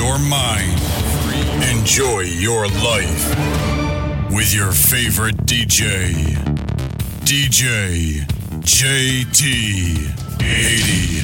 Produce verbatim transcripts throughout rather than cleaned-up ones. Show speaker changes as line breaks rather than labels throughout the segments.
your mind. Enjoy your life with your favorite D J. D J J T eighty.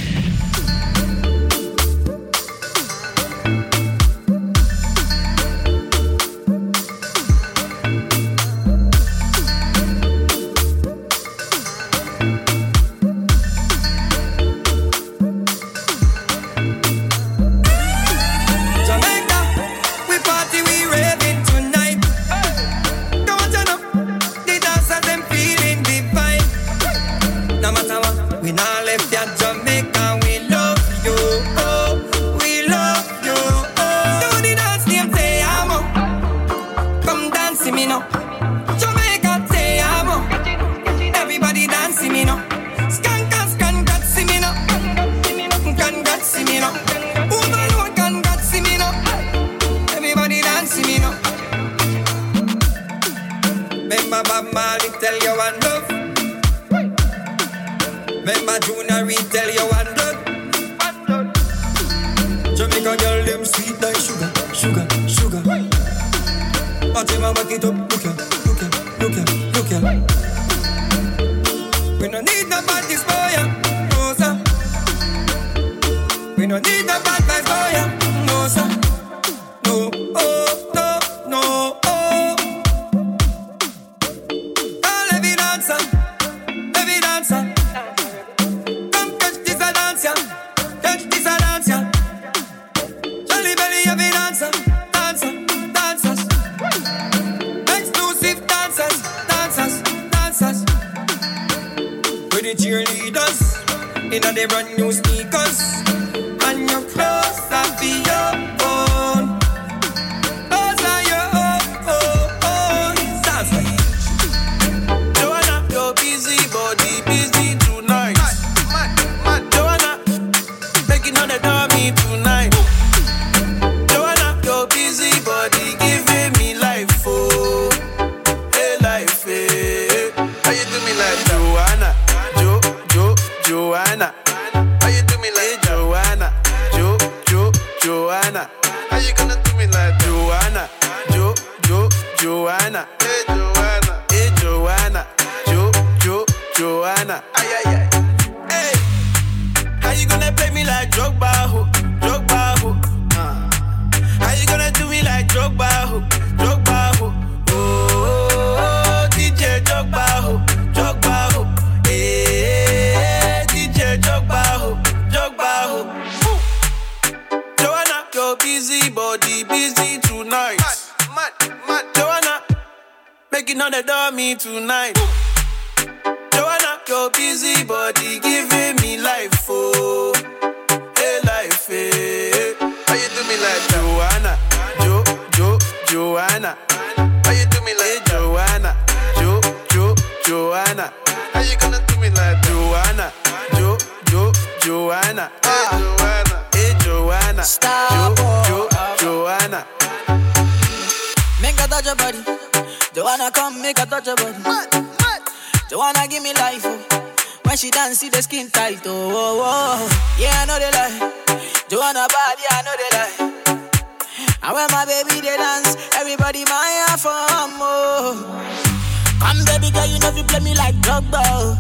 See the skin tight, oh, oh, oh. Yeah, I know they lie. Joanna bad, yeah, I know they lie. And when my baby they dance, everybody my for more. Come baby girl, you know you play me like Drogba,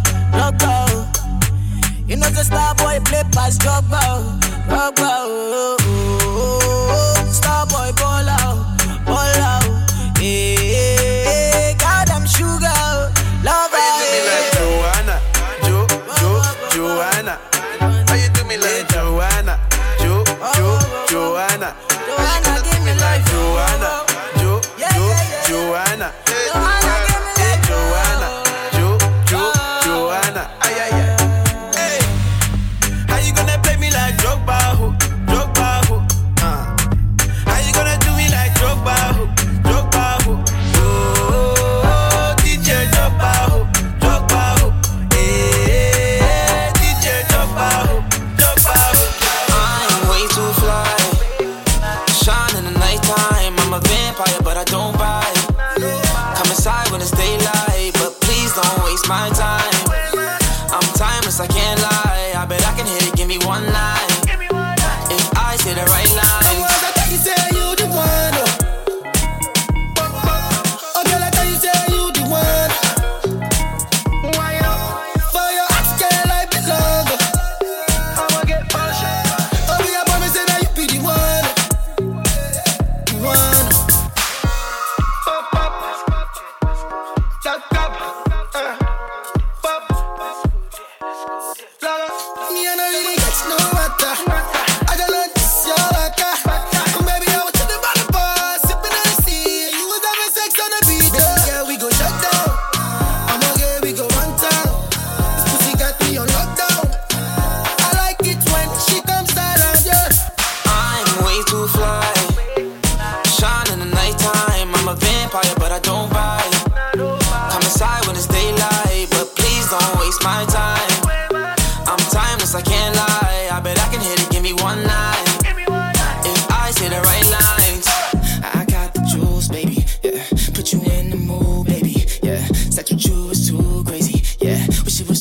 Drogba. You know the star boy play past Drogba, Drogba. Oh, oh, oh. Star boy ball out, ball out. Yeah, God I'm sugar, love her.
Joanna, how you do me like Joanna? Jo, Jo, Joanna.
Joanna, give me like
Joanna, Jo, Jo, Joanna. Hey, Joanna, Jo, Jo, Joanna. Ay, ay, ay. Hey, how you gonna play me like Drogba, ho, Drogba, ho? Uh. How you gonna do me like Drogba, ho, Drogba, ho? Oh, D J Drogba, ho, Drogba, ho.
My time, I'm timeless, I can't lie. I bet I can hit it, give me one night. If I say the right line,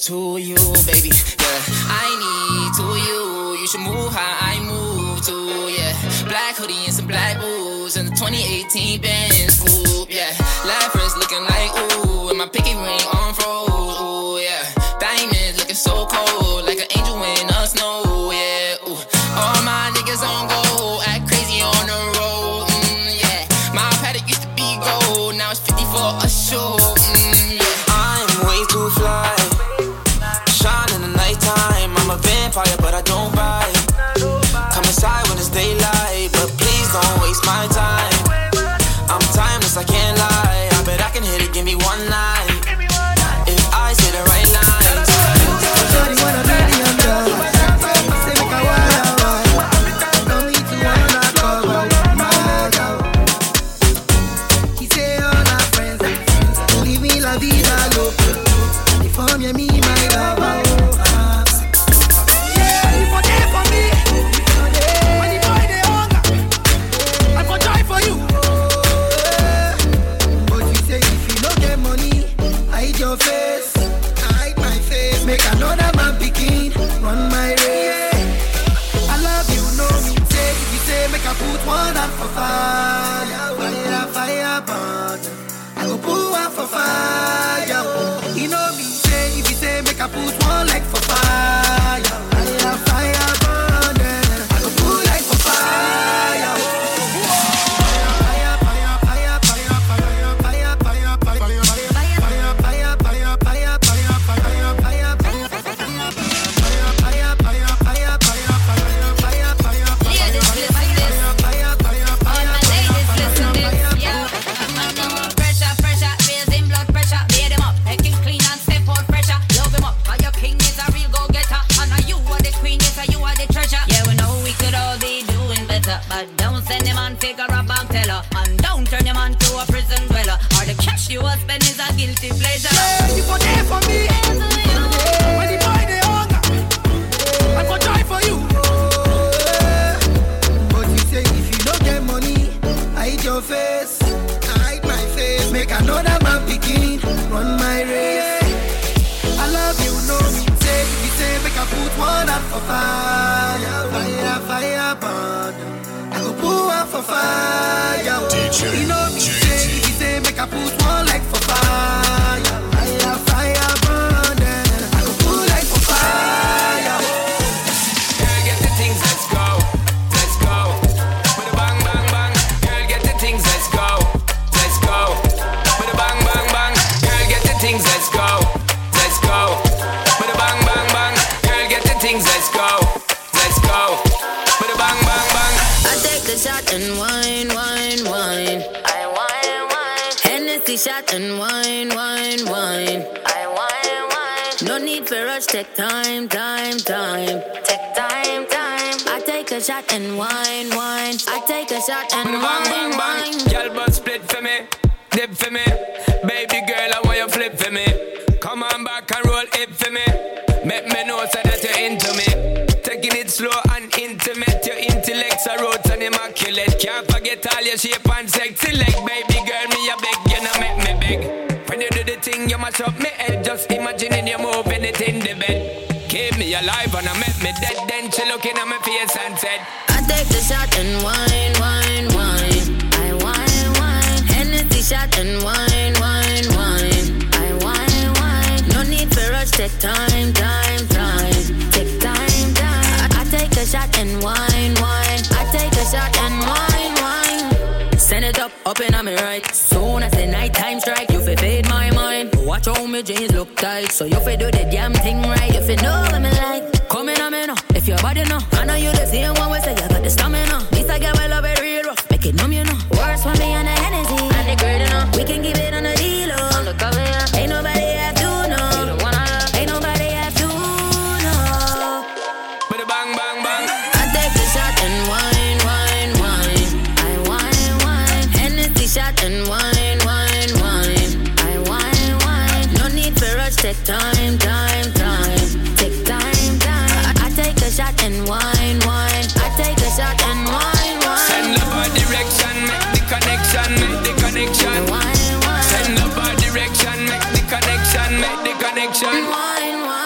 to you, baby. Yeah, I need to you. You should move how I move to, yeah. Black hoodie and some black boots and the twenty eighteen Benz coupe, yeah. Lapras looking like ooh, and my pinky ring on froze, ooh, yeah. Diamonds looking so cold, like an angel in the snow, yeah. Ooh, all my niggas on go, act crazy on the road, mm, yeah. My paddock used to be gold, now it's fifty for a show, mm, yeah.
I'm way too fly, shine in the nighttime. I'm a vampire, but I don't bite. Come inside when it's daylight, but please don't waste my time. I'm timeless, I can't lie. I bet I can hit it, give me one night. If I say the right lines.
Shorty wanna be the underdog. Say make a wild one. Don't need to wanna cover my girl. He say all our friends, leave me la vida loca. They form you me my lover. Yeah, you for there for me. When the boy they hunger, I for die for you. But you say if you don't get money, hide your face. Hide my face. Make another man begin run my race. I love you, know me. Say if you say make I put one out for fire, fire, fire, burn. I go put one for fire. You know me. Say if you say make I put one like for fire, fire, fire, burn. I go put like for fire. Fire, fire, fire, fire, fire, fire, fire, fire, fire, fire, fire, fire, fire, fire, fire.
But don't send him on figure a bank teller, and don't turn him on to a prison dweller, or the cash you will spend is a guilty pleasure.
Yeah, you for there for me. When the boy they hunger, I for die for you. But you say if you don't get money, hide your face. Hide my face. Make another man begin run my race. I love you, know me. Say if you say make I put one out for fire, fire, fire, burn. I go put one for fire.
D J
you know me.
J T.
Say if you say make I put one like for fire, fire, fire, burn. I go put like for fire.
Girl, get the things, let's go, let's go. With a bang, bang, bang. Girl, get the things, let's go, let's go. With a bang, bang, bang. Girl, get the things, let's go, let's go. With a bang, bang, bang. Girl, get the things, let's go, let's go. With a bang, bang, bang.
I take the shot and wine, wine, wine. I wine, wine. Hennessy shot and wine, wine, wine. I wine, wine. No need for rush, take time, time, time. Take time, time. I take a shot and wine, wine. I take a shot and
With a bang,
wine,
bang, bang.
wine.
Girl, but split for me, dip for me. Baby girl, I want you flip for me. Come on back and roll it for me. Make me know so that you're into me. Taking it slow and intimate. Your intellect's a roots and immaculate. Can't forget all your shape and sexy leg. Baby girl, me a beg, you know make me beg. When you do the thing, you mash up me head. Just imagining you moving it in the bed. Keep me alive and I make me dead. Then she looking at my face and said,
I take the shot and wine, wine, wine. I wine, wine. Hennessy shot and wine, wine, wine. I wine, wine. No need for rush, take time, time, time. Take time, time. I, I take a shot and wine, wine. I take a shot and wine, wine. Send it up, up in on me right. Soon as the night time strike, you fi fade my mind. Watch how me jeans look tight, so you fi do the damn thing right. You fi know what me like. Come in on me now, if your body know. I know you the same one we say you got the stamina. This I get my love it real rough, make it numb you know. Worse for me and the Hennessy, and the great enough. We can give it on the deal, oh. On the cover, yeah. Ain't nobody have to know. You the one I love. Ain't nobody have to know.
with a bang, bang, bang.
I take the shot and wine, wine, wine. I wine, wine. Hennessy shot and wine, wine, wine. I wine, wine. No need for rush, take time, time, time. Take time, time. I, I take a shot and wine, wine. I take a shot and wine, wine.
Send love our direction, make the connection, make the connection.
Wine, wine.
Send love our direction, make the connection, make the connection.
Wine, wine.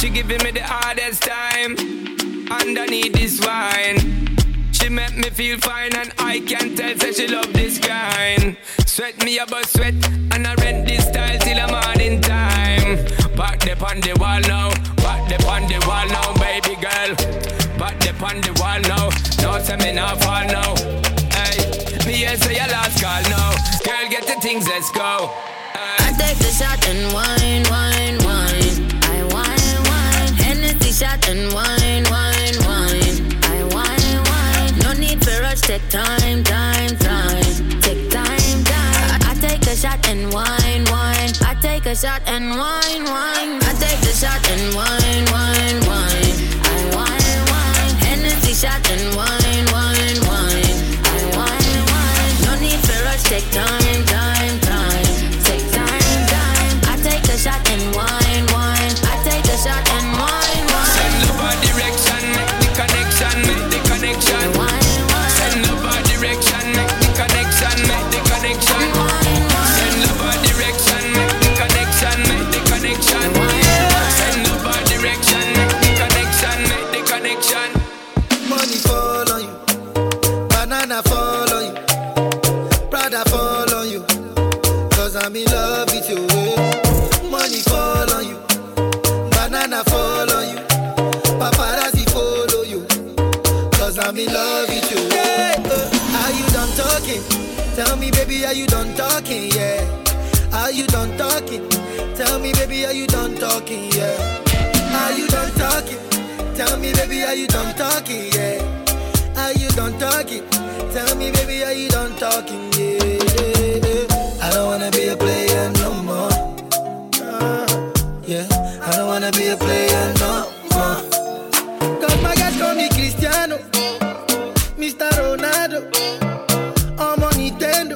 She giving me the hardest time underneath this wine. She make me feel fine and I can tell that she love this kind. Sweat me about sweat and I rent this style till the morning time. Back the on the wall now, back the on the wall now, baby girl. Back the on the wall now, no say me not fall now. Hey, me here say your last call now. Girl, get the things, let's go. Hey.
I take the shot and wine, wine, wine. I wine, wine. Hennessy shot and wine, wine, wine. I wine, wine. No need for rush, take time, time, time. Take time, time. I, I take a shot and wine, wine. I take a shot and wine, wine. I take the shot and wine, wine, wine. I wine, wine. Hennessy shot and wine, wine, wine. I wine, wine. No need for rush, take time, time, time. Take time, time. I take a shot and wine, wine. I take a shot and wine, wine.
Send love a direction, make the connection, make the connection.
Wine, wine.
Send love a direction, make the connection, make the connection.
Wine, wine.
Send love a direction, make the connection, make the connection. Send love a direction, make the connection, make the connection.
Money fall on you, banana fall on you, Prada fall on you, cause I'm in love with you. Money fall on you, banana fall on you, paparazzi follow you, cause I'm in love with you. Yeah. Uh, are you done talking? Tell me baby, are you done talking? Yeah. Are you done talking? Tell me baby, are you done talking? Yeah. Are you done talking? Tell me baby, are you done talking? Yeah. Are you done talking? Tell me baby, are you done talking? Yeah. I don't wanna be a player no more. Uh, yeah. I don't wanna be a player no more. Cause my guys call me Cristiano, Mister Ronaldo, I'm on Nintendo.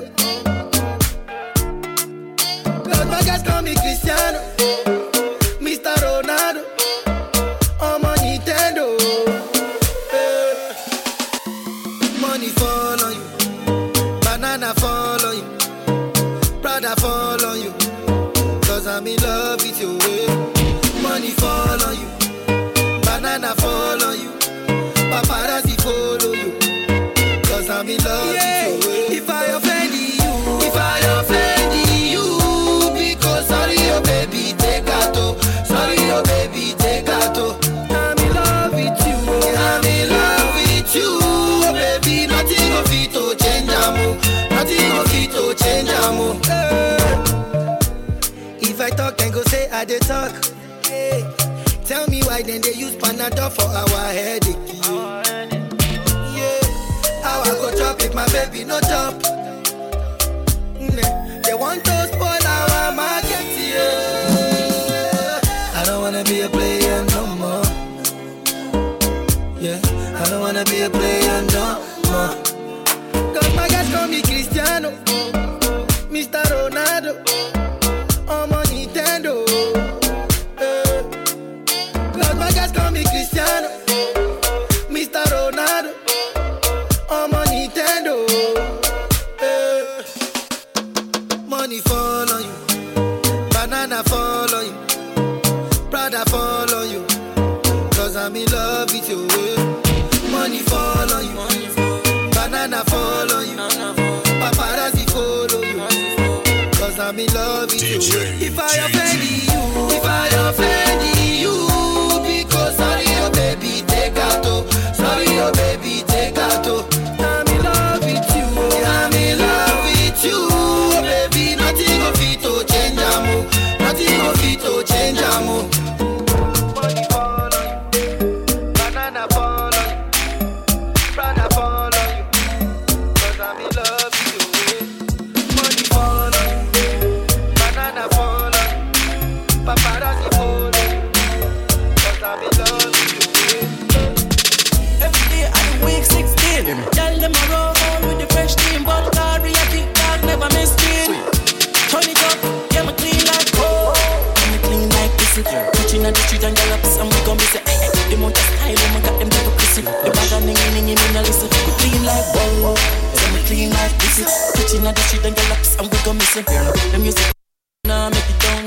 Cause my guys call me Cristiano, Mister Ronaldo, I'm on Nintendo. Eh. Money fall on you, banana fall on you, Prada fall on you, cause I'm in love with you. Eh. Money fall on you, banana fall on you, paparazzi follow you, cause I'm in love yeah. with you. Eh. If I offend you, if I offend you, because sorry oh baby, take out oh. Sorry oh baby, take out oh. I'm in love with you, I'm in love with you, oh baby, nothing of it to change amo, nothing of it to change amo. If I talk then go say I dey talk. Hey. Tell me why then they use Panadol for our headache. Yeah, how I go chop if my baby no chop? Mm, they want to spoil our market. Yeah, I don't wanna be a player no more. Yeah, I don't wanna be a player no more. Cause my guys call me Cristiano, Mister Ronaldo, I'm on Nintendo. Eh. Cause my guys call me Cristiano, Mister Ronaldo, I'm on Nintendo. Eh. Money fall on you, banana fall on you, Prada fall on you, cause I'm in love with you. Eh. Money fall on you, banana fall on you, paparazzi follow you, cause I'm in love with
D J,
you. If I
J T.
offend you, if I offend you, because sorry oh baby, take out oh. Sorry oh baby, take out oh. I'm in love with you, I'm in love with you, oh baby, nothing of it to change amo, nothing of it to change amo. Money fall on you, banana fall on you, Prada fall on you, cause I'm in love with you. Money fall on you, banana fall on you, paparazzi follow you, cause I'm in love with you.
Every day I'm week sixteen. Tell them I roll on with the fresh team, but God, we are kick back, never miss it. Turn it up, yeah, me clean like gold. Yeah, me clean like this. Preaching on the street and girl ups and we gon' miss it. The amount of style, we got them people kissing. The bag of ning ning ning ning listen. We clean like gold. Yeah, me clean like this. Preaching on the street and girl ups and we gon' miss it. The music, nah, make it down, no, the only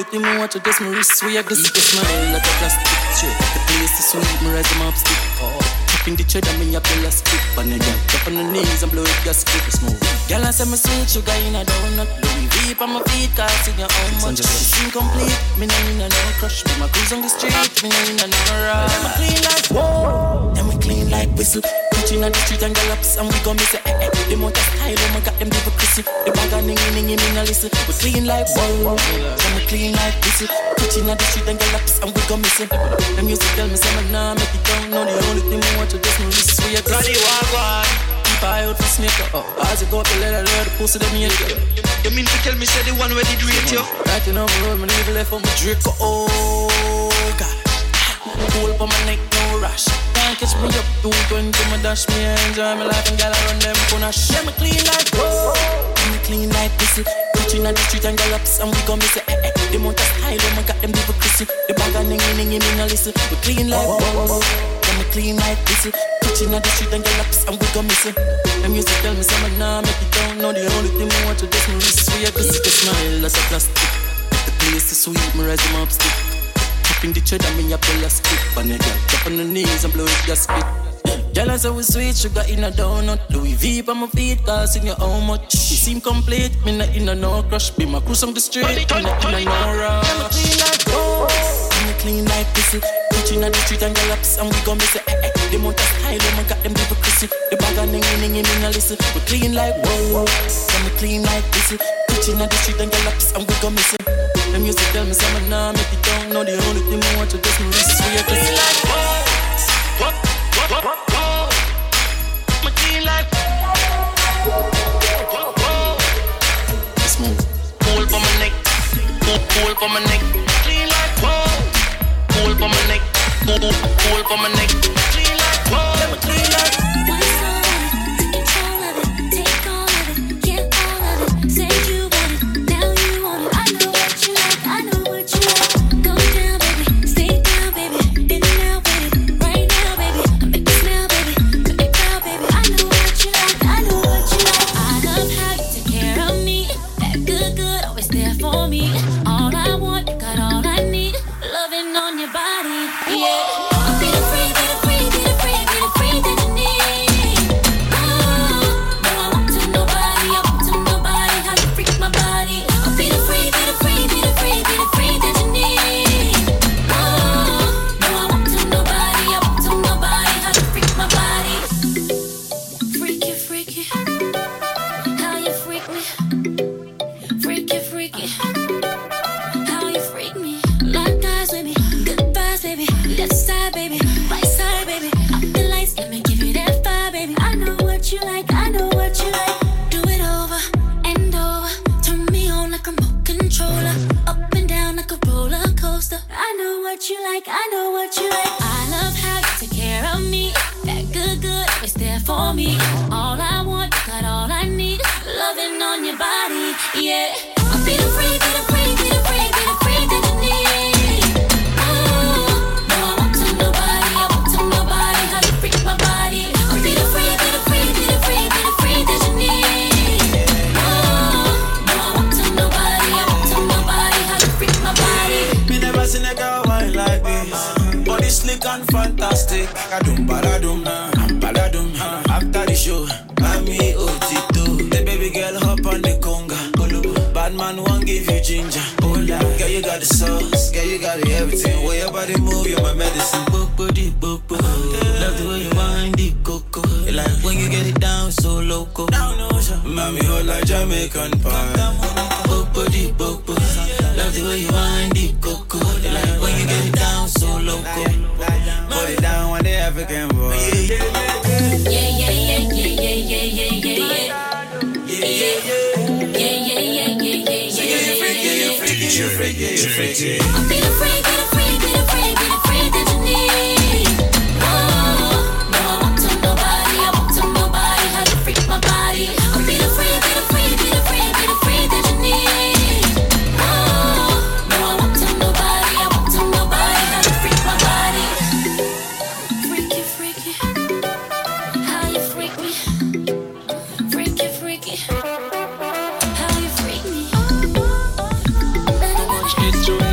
only thing me watch is just my wrist swag. This is smile like a plastic straight. The place is sweet, me rise them up stick. Oh, up in the cheddar, me a pill a stick. And then get up on the knees and blow it gas stick. Smooth. Girl, I say me sweet sugar in a donut. Louis V on my feet, cause in your own much. It's incomplete, me no in a no crush. Me my cruise on the street, me no in a no rush. Then we clean like whoa, then we clean like whistle. Touching on the street and galops and we gon' miss it. Eh, eh. The motor style, oh my God, them people crissy. The bag of ningy ningy, me no listen. We clean like whoa, then we clean like whistle. Touching on the street and galops and we gon' miss it. The music tell me say me nah make it down. No, the only thing me watch is just my wrist sway. Bloody wagwan. I out for sneaker. Oh, as you go up the ladder, the pussy them here.
You mean to tell me say the one where did rate you?
Right in over road, my nigga left on my Draco. Oh God, pull up on my neck, no rush. Can't catch me up, two twenty, my dash me. I enjoy my life and gotta run them punash. Yeah, me clean like whoa, me clean like whistle. Touching on the street and galops and we gon' miss it. Eh, eh. The motor style, oh my God, them people crissy. The bag of ningy ningy, me no listen. We clean like whoa, yeah, me clean like whistle. Touching on the street and galops and we gon' miss it. The music tell me say me nah make it down. No, the only thing me watch is just my wrist sway. This is the smile that's a plastic. The place is sweet, me rise them up stick. Up in the cheddar, me a pill a stick. And the girl drop on the knees and blow it gas spit. Girl, I say we sweet sugar in a donut. Louis V on my feet, cause in your how much. She seem complete, me not in a no crush. Be my cruise on the street, me not in a no rush. I'm clean like whoa, I'm clean like whistle. Touching on the street and galops and we gon' miss it. Eh, eh. The motor style, oh my God, them people crissy. The bag of ningy ningy, me no listen. We clean like whoa, I'm clean like whistle. Touching on the street and galops and we gon' miss it. The music tell me say me nah make it down. No, the only thing me watch is just my wrist sway. Clean like whoa, whoa, whoa, whoa, whoa. Me clean like whoa, whoa, whoa. Smooth. Pull for my neck, pull, pull for my neck. Clean like whoa, pull for my neck, pull, pull for my neck. Clean like whoa, let me clean like.
It's true.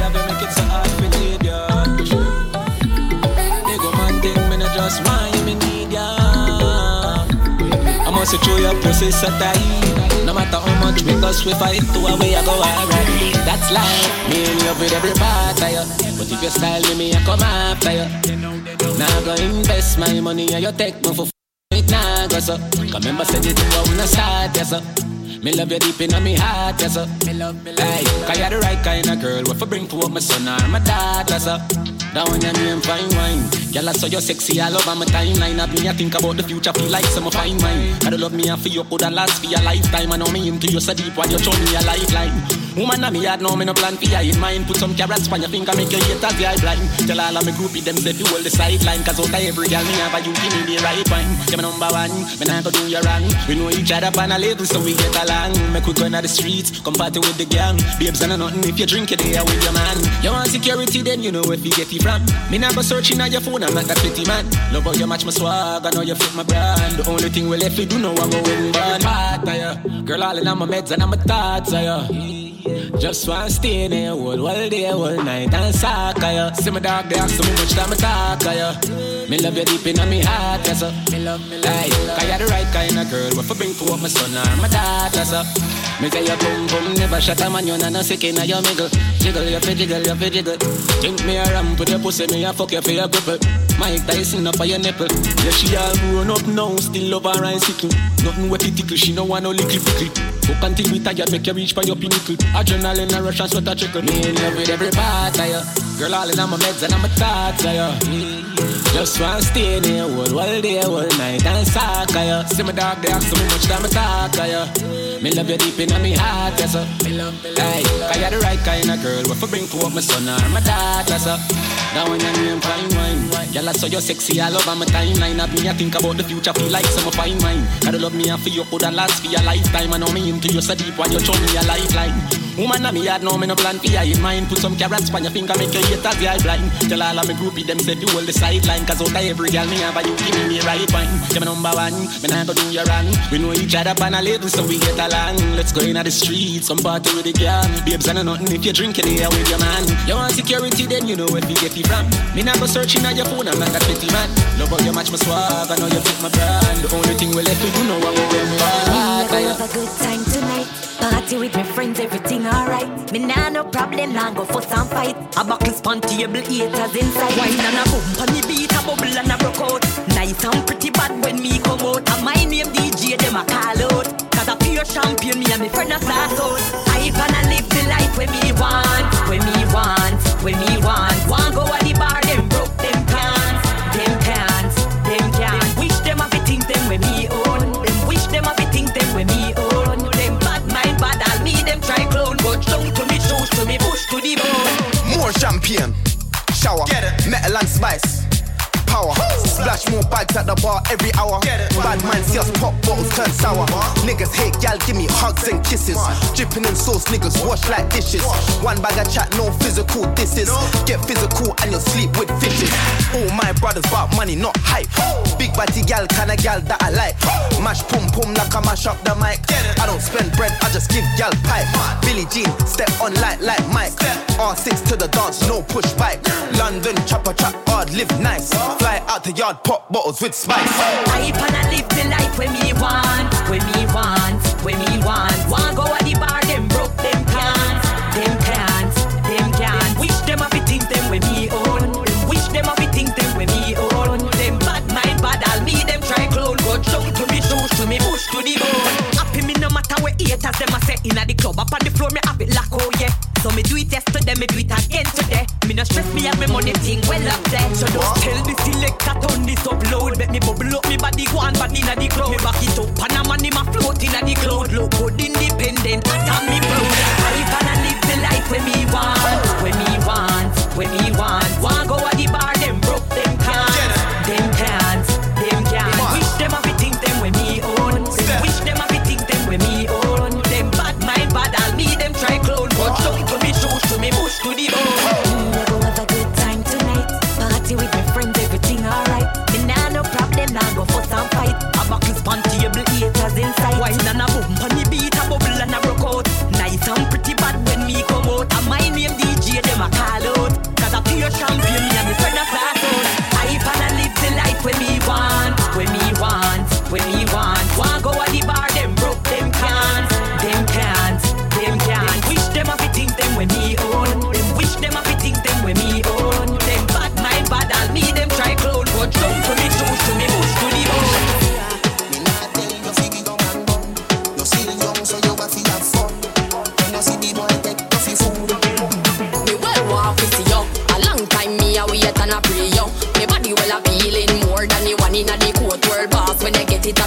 pussy through your pussy so tight. No matter how much because we fight to a way I go alright. That's life. Me in love with every part of you. But if you style with me, I come after you. Now I go invest my money and you take me for f*** it now go so. Cause remember said it I wanna start yes so. Me love you deep in my heart yes so. Me love me like. Cause you're the right kind of girl. What for bring to my son or my daughter so. That one your name fine wine. Girl I saw you sexy all over my timeline. Have me I think about the future feel like some fine wine. Gotta love me and for you could last for your lifetime. I know me into you so deep while you show me a lifeline. Woman and me had no me no plan for you in mind. Put some carrots on your finger make you hate as the eye blind. Tell all of me groupie them say you hold the sideline. Cause out of every girl me have a you give me the right wine. You're my number one, me not go do you wrong. We know each other on a level so we get along. Make we go into the streets, come party with the gang. Babes and nothing if you drink it there with your man. You want security then you know if you get it from. Me not go searching on your phone, I'm not that pretty man. Love how you match my swag, I know you fit my brand. The only thing we left we do know I go in bad part of you. Girl all in on my meds and on my thoughts of you. Just want to stay there all, all day, all night and suck of you. See my dog they ask so much time I talk of you. Me love you deep in my heart, yes sir. Me love me like. Cause you're the right kind of girl. What for bring to up my son or my daughter, sir. Me say you boom boom, never shut a man. You not sick in your miggle. Jiggle, you fi jiggle, you fi jiggle. Think me a ramp with your pussy, me a fuck you for your cripple. Mike Tyson up on your nipple. Yeah, she all grown up now, still love her and sickle. Nothing with it tickle, she no want no lickle pickle. Fuck until we tired, make you reach for your pinnacle. Adrenaline and rush and sweat a trickle. Me in love with every part of you. Girl all in on my meds and on my thoughts of you. Just want to stay there all, all day, all night and suck of you. See my dog they ask so much time I talk of you. Me love you deep in my heart, yes sir. Me love me like. Cause you're the right kind of girl. What for bring to up my son or my daughter, sir. That one your name fine wine. Girl I saw you sexy all over my timeline. Have me I think about the future feel like some fine wine. Gotta love me and for you could last for your lifetime. I know me into you so deep while you show me a lifeline. Woman and me had no me no plan for you in mind. Put some carrots on your finger make you hate as the eye blind. Tell all of me groupie them say you hold the sideline. Cause out of every girl me have a you give me the right wine. You're my number one, me not go do you wrong. We know each other on a level so we get along. Let's go into the streets, some party with the gang. Babes and nothing if you drink it here with your man. You want security then you know where you get it from. Me not go searching on your phone, I'm not that petty man. Love how you match my swag, I know you fit my brand. The only thing we left we do know what we're going
to have a good time tonight. Party with my friends, everything alright. Me nah no problem, nah go fuss and fight. A buckle spun table, haters inside. Wine and a boom, on the beat, a bubble and a broke out. Nice and pretty bad when me come out. And my name D J, them a call out. Cause a pure champion, me and me friend a start out. I gonna live the life when me want, when me want, when me want. Want go at the bar, them broke, them can't, them can't, them can't. Wish them a fi think them when me own. Them wish them a fi think them when me own. Them bad mind bad, I'll me them try clone. But down to me shoes, to me push to the bone.
More champagne, shower, metal and spice. Power. Splash more bags at the bar every hour. Bad man see us pop bottles turn sour. Niggas hate gal, give me hugs and kisses. Dripping in sauce, niggas wash like dishes. One bag of chat, no physical disses. Get physical and you'll sleep with fishes. All my brothers about money, not hype. Big body gal, kinda gal that I like. Mash pum pum like I mash up the mic. I don't spend bread, I just give gal pipe. Billie Jean, step on light like Mike. R six to the dance, no push bike. London, chopper trap hard, live nice. Fly out the yard, pop bottles with spice.
I wanna live the life when me want, when me want, when me want. Want go at the bar, them broke, them can't, them can't, them can't. Wish them a fi think them when me own. Them wish them a fi think them when me own. Them bad mind bad, I'll me them try clone. Go down to me shoes, to me push to the bone. Happy me no matter what haters them a say inna the club. Up on the floor me have it lock, oh yeah. So me do it yesterday, me do it again today. Me no stress, me have me money thing well up there. So don't tell the selector turn this up loud. Make me bubble up, me body go on bad inna the crowd. Me back it up and a man in my float inna the cloud. Look good independent, and me proud. I wanna live the life when me want, when me want, when me want. Want go at the bar, them broke, them can't, them can't, them can't. Wish them a fi think them when me own. Them wish them a fi think them when me own. Them bad mind bad, I'll me them try clone. But don't to me shoes, to me push to the bone. We go have a good time tonight. Party with my friends, everything alright. Me nah no problem, nah go fuss and fight. A buckle spun table, haters inside. Wine and a boom, on the beat, a bubble and a broke out. Nice and pretty bad when me come out. And my name D J, them a call out. Cause a pure champion, me and me friend a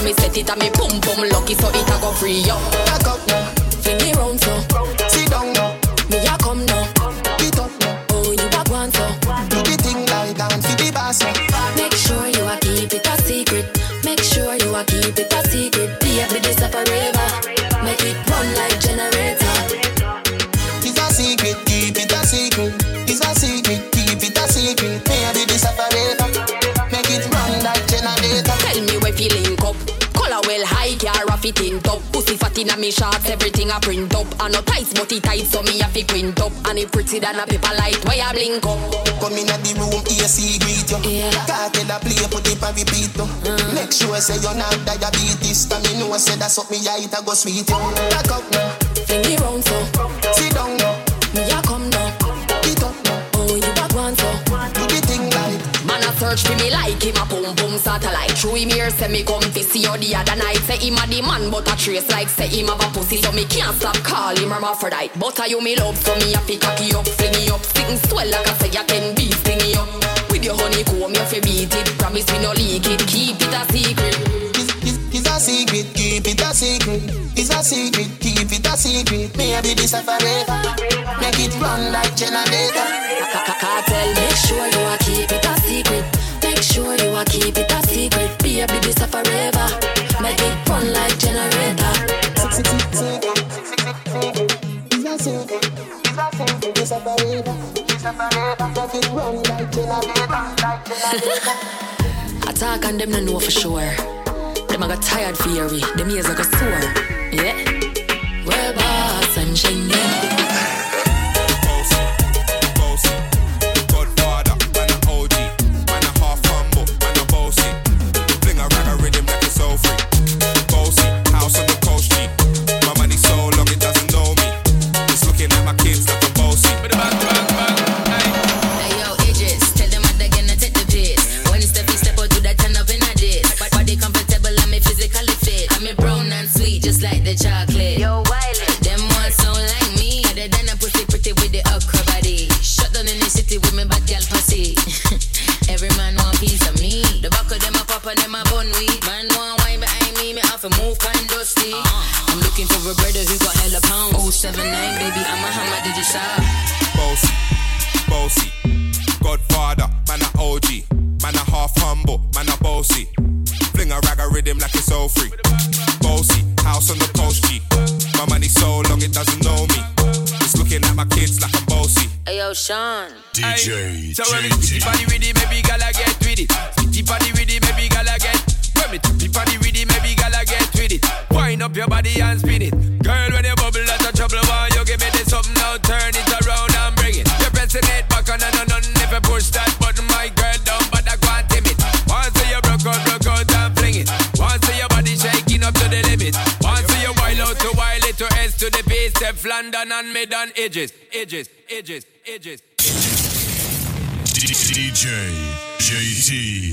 me set it and me pum pum lucky so it a go free up.
Back up now,
fling it round so.
sit down now,
Me a come now.
get up now.
Oh, you a go on so.
Do the thing like dance for the boss now.
Make sure you a keep it a secret. Make sure you a keep it a secret. Baby, this a forever. Make it run like generator.
It's a secret, keep it a secret. It's a secret, keep it a secret. Baby, this a forever. Make it run like generator.
Tell me where feeling up. Color well high, car a fit in top. Pussy fat in a me shorts, everything a print up. And no tights, but it tight, so me a fi print up. And it pretty than a paper light, where you blink up.
Come in at the room, A C greet you.
Yeah.
Cartel a play, put it on repeat you. Mm. Make sure say you're not diabetes. Cause me know say that's what me a eat a go sweet you. Back up now,
Fling it round so.
sit down now,
Me a come now.
get up now.
Oh, you a go on so.
Do the thing like
Man a search for me like him a boom boom satellite. Through him here say me come fi see you the other night. Say him a the man but a trace like say him have a pussy. So me can't stop call him hermaphrodite. But a you me love so me a fi cocky up, fling it up. Sitting swell like I say you can be sting it up. With your honeycomb you fi beat it. Promise me no leak it, keep it a secret.
it's, it's, it's a secret, keep it a secret. It's a secret, keep it a secret. Maybe this a forever. Make it run like generator.
Cartel, make sure you a keep it a secret. Make sure you a keep it a secret. Baby, this a forever. Make it run like generator.
It's a secret, it's a secret. It's a forever. It's a forever. Make it run like generator. Like generator.
Attack and them no know for sure. Them a got tired for your them ears a go sore. Yeah. Well, boss and Schengen.
Chocolate. Yo, Wiley. Them ones sound like me. Other than a pussy pretty with the okra body. Shut down in the city with me bad gal pussy. Every man want piece of me. The back of them a pop and them a bun weed. Man want wine behind me, me have to move kind dusty. Uh-huh. I'm looking for a brother who got hella pounds. oh seven nine, baby, I'm a hammer, did you saw?
Bossy, bossy, Godfather, man a O G. Man a half humble, man a bossy. Fling a rag a rhythm like it's all free. Bossy, house on the coast G. My money so long it doesn't know me. It's looking at my kids like I'm bossy.
Hey yo, Sean.
D J
So when me tippy body with it, maybe gala get with it. Tippy body with it, maybe gala get. When me tippy body with it, maybe gala get with it. Wind up your body and spin it. Girl, when you bubble out of trouble, why you give me this something now? Turn it around and bring it. You're pressing it back on and on and if you push that button, my girl down, but I can't tame it. Once you broke out, broke out and fling it. Once your body shaking up to the limit. Once you wild out to wild it to S to the base, step London and mid on edges, edges, edges, edges.
D J J T.